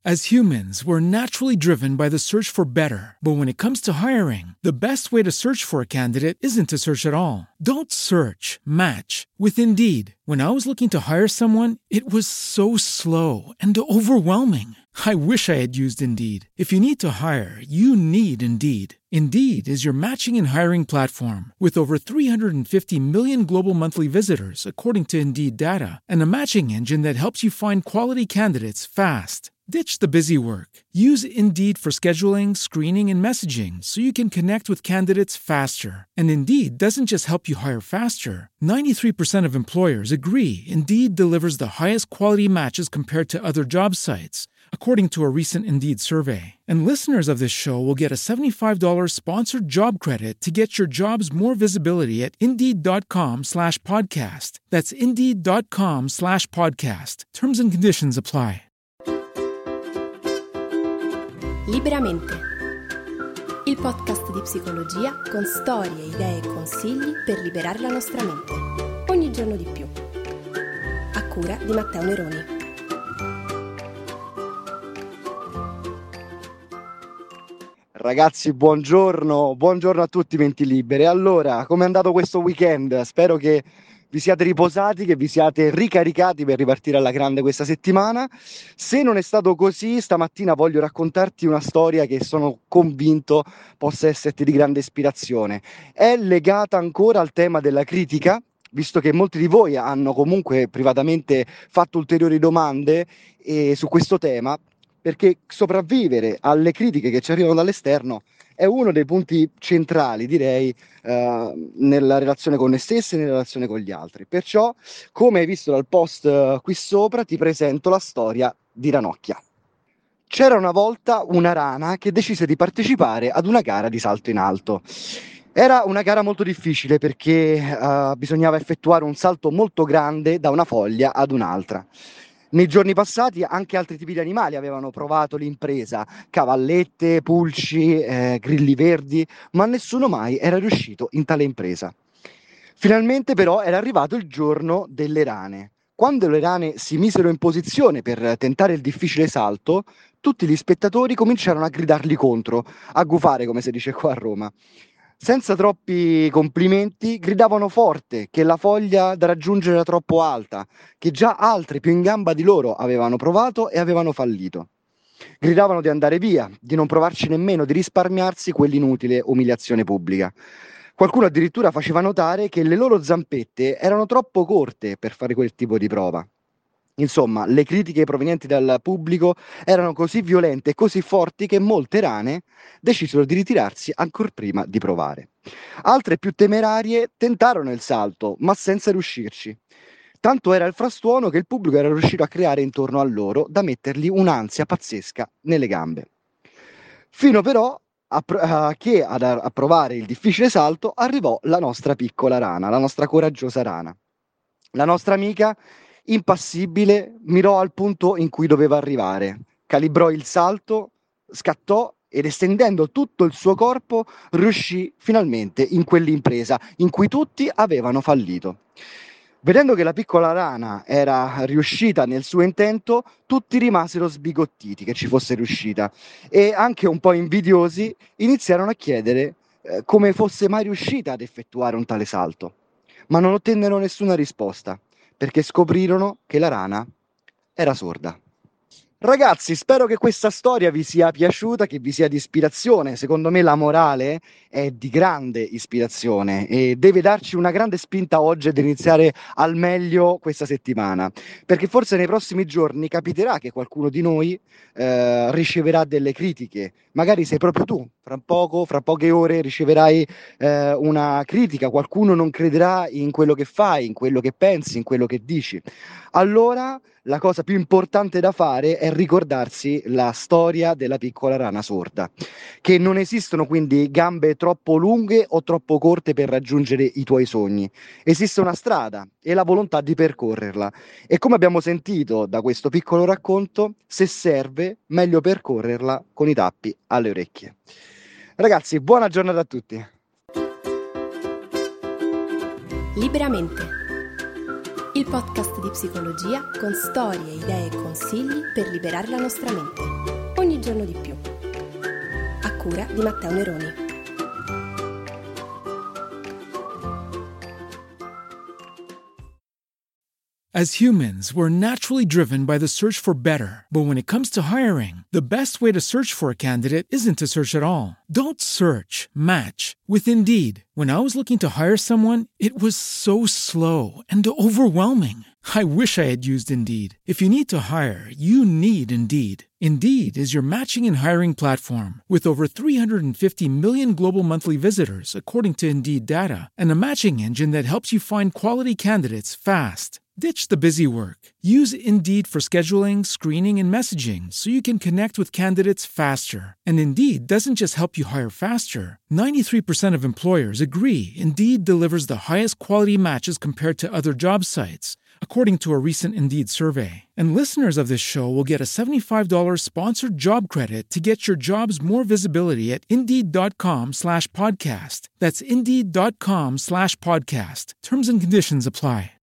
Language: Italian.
As humans, we're naturally driven by the search for better. But when it comes to hiring, the best way to search for a candidate isn't to search at all. Don't search, match with Indeed. When I was looking to hire someone, it was so slow and overwhelming. I wish I had used Indeed. If you need to hire, you need Indeed. Indeed is your matching and hiring platform with over 350 million global monthly visitors, according to Indeed data, and a matching engine that helps you find quality candidates fast. Ditch the busy work. Use Indeed for scheduling, screening, and messaging so you can connect with candidates faster. And Indeed doesn't just help you hire faster. 93% of employers agree Indeed delivers the highest quality matches compared to other job sites, according to a recent Indeed survey. And listeners of this show will get a $75 sponsored job credit to get your jobs more visibility at Indeed.com/podcast. That's Indeed.com/podcast. Terms and conditions apply. Liberamente, il podcast di psicologia con storie, idee e consigli per liberare la nostra mente, ogni giorno di più. A cura di Matteo Neroni. Ragazzi, buongiorno a tutti menti libere. Allora, come è andato questo weekend? Spero che vi siate riposati, che vi siate ricaricati per ripartire alla grande questa settimana. Se non è stato così, stamattina voglio raccontarti una storia che sono convinto possa esserti di grande ispirazione. È legata ancora al tema della critica, visto che molti di voi hanno comunque privatamente fatto ulteriori domande su questo tema, perché sopravvivere alle critiche che ci arrivano dall'esterno è uno dei punti centrali, direi, nella relazione con noi stessi e nella relazione con gli altri. Perciò, come hai visto dal post qui sopra, ti presento la storia di Ranocchia. C'era una volta una rana che decise di partecipare ad una gara di salto in alto. Era una gara molto difficile perché bisognava effettuare un salto molto grande da una foglia ad un'altra. Nei giorni passati anche altri tipi di animali avevano provato l'impresa, cavallette, pulci, grilli verdi, ma nessuno mai era riuscito in tale impresa. Finalmente però era arrivato il giorno delle rane. Quando le rane si misero in posizione per tentare il difficile salto, tutti gli spettatori cominciarono a gridarli contro, a gufare come si dice qua a Roma. Senza troppi complimenti, gridavano forte che la foglia da raggiungere era troppo alta, che già altri più in gamba di loro avevano provato e avevano fallito. Gridavano di andare via, di non provarci nemmeno, di risparmiarsi quell'inutile umiliazione pubblica. Qualcuno addirittura faceva notare che le loro zampette erano troppo corte per fare quel tipo di prova. Insomma, le critiche provenienti dal pubblico erano così violente e così forti che molte rane decisero di ritirarsi ancor prima di provare. Altre più temerarie tentarono il salto, ma senza riuscirci. Tanto era il frastuono che il pubblico era riuscito a creare intorno a loro da mettergli un'ansia pazzesca nelle gambe. Fino però che a provare il difficile salto arrivò la nostra piccola rana, la nostra coraggiosa rana. La nostra amica impassibile, mirò al punto in cui doveva arrivare, calibrò il salto, scattò ed estendendo tutto il suo corpo riuscì finalmente in quell'impresa in cui tutti avevano fallito. Vedendo che la piccola rana era riuscita nel suo intento, tutti rimasero sbigottiti che ci fosse riuscita e anche un po' invidiosi iniziarono a chiedere come fosse mai riuscita ad effettuare un tale salto, ma non ottennero nessuna risposta, perché scoprirono che la rana era sorda. Ragazzi, spero che questa storia vi sia piaciuta, che vi sia di ispirazione. Secondo me la morale è di grande ispirazione e deve darci una grande spinta oggi ad iniziare al meglio questa settimana, perché forse nei prossimi giorni capiterà che qualcuno di noi riceverà delle critiche. Magari sei proprio tu, fra poche ore riceverai una critica, qualcuno non crederà in quello che fai, in quello che pensi, in quello che dici. Allora la cosa più importante da fare è ricordarsi la storia della piccola rana sorda, che non esistono quindi gambe troppo lunghe o troppo corte per raggiungere i tuoi sogni. Esiste una strada e la volontà di percorrerla. E come abbiamo sentito da questo piccolo racconto, se serve, meglio percorrerla con i tappi alle orecchie. Ragazzi, buona giornata a tutti. Liberamente, il podcast di psicologia con storie, idee e consigli per liberare la nostra mente. ogni giorno di più. A cura di Matteo Neroni. As humans, we're naturally driven by the search for better. But when it comes to hiring, the best way to search for a candidate isn't to search at all. Don't search, match with Indeed. When I was looking to hire someone, it was so slow and overwhelming. I wish I had used Indeed. If you need to hire, you need Indeed. Indeed is your matching and hiring platform with over 350 million global monthly visitors, according to Indeed data, and a matching engine that helps you find quality candidates fast. Ditch the busy work. Use Indeed for scheduling, screening, and messaging so you can connect with candidates faster. And Indeed doesn't just help you hire faster. 93% of employers agree Indeed delivers the highest quality matches compared to other job sites, according to a recent Indeed survey. And listeners of this show will get a $75 sponsored job credit to get your jobs more visibility at Indeed.com/podcast. That's Indeed.com/podcast. Terms and conditions apply.